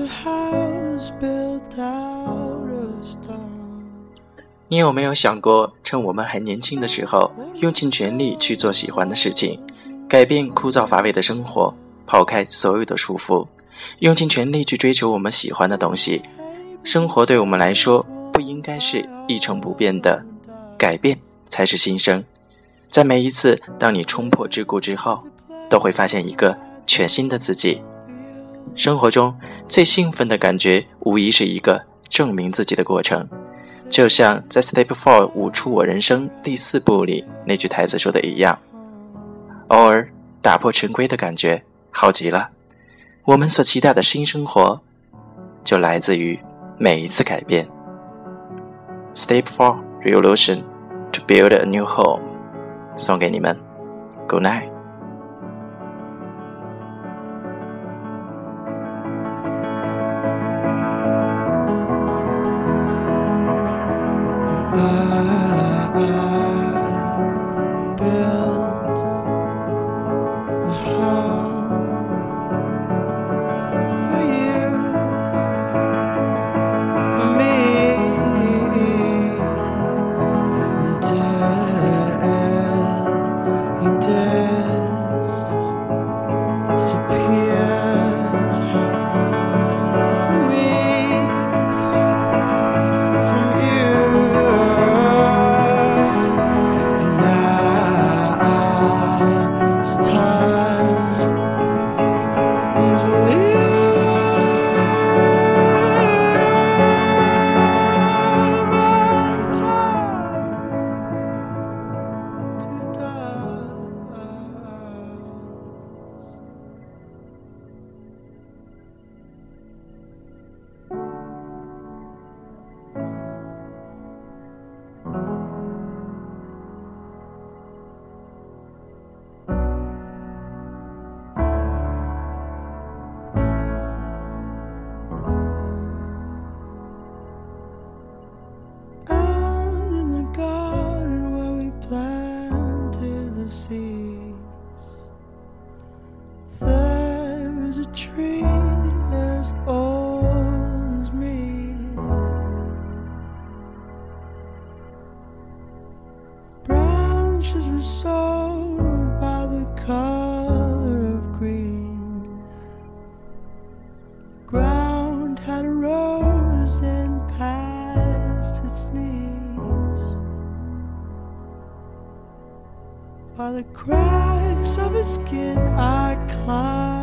你有没有想过，趁我们还年轻的时候，用尽全力去做喜欢的事情，改变枯燥乏味的生活，抛开所有的束缚，用尽全力去追求我们喜欢的东西。生活对我们来说不应该是一成不变的，改变才是新生。在每一次当你冲破桎梏之后，都会发现一个全新的自己。生活中最兴奋的感觉无疑是一个证明自己的过程，就像在 Step 4舞出我人生第4步里那句台词说的一样，偶尔打破陈规的感觉好极了。我们所期待的新生活就来自于每一次改变。 Step 4 Revolution to build a new home， 送给你们 Good night。 Tree as old as me, branches were sold by the color of green, the ground had rose and past its knees, by the cracks of his skin I climbed